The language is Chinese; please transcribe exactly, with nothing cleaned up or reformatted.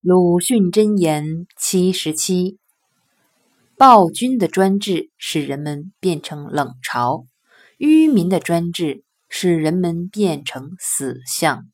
鲁迅箴言七十七：暴君的专制使人们变成冷嘲，愚民的专制使人们变成死相。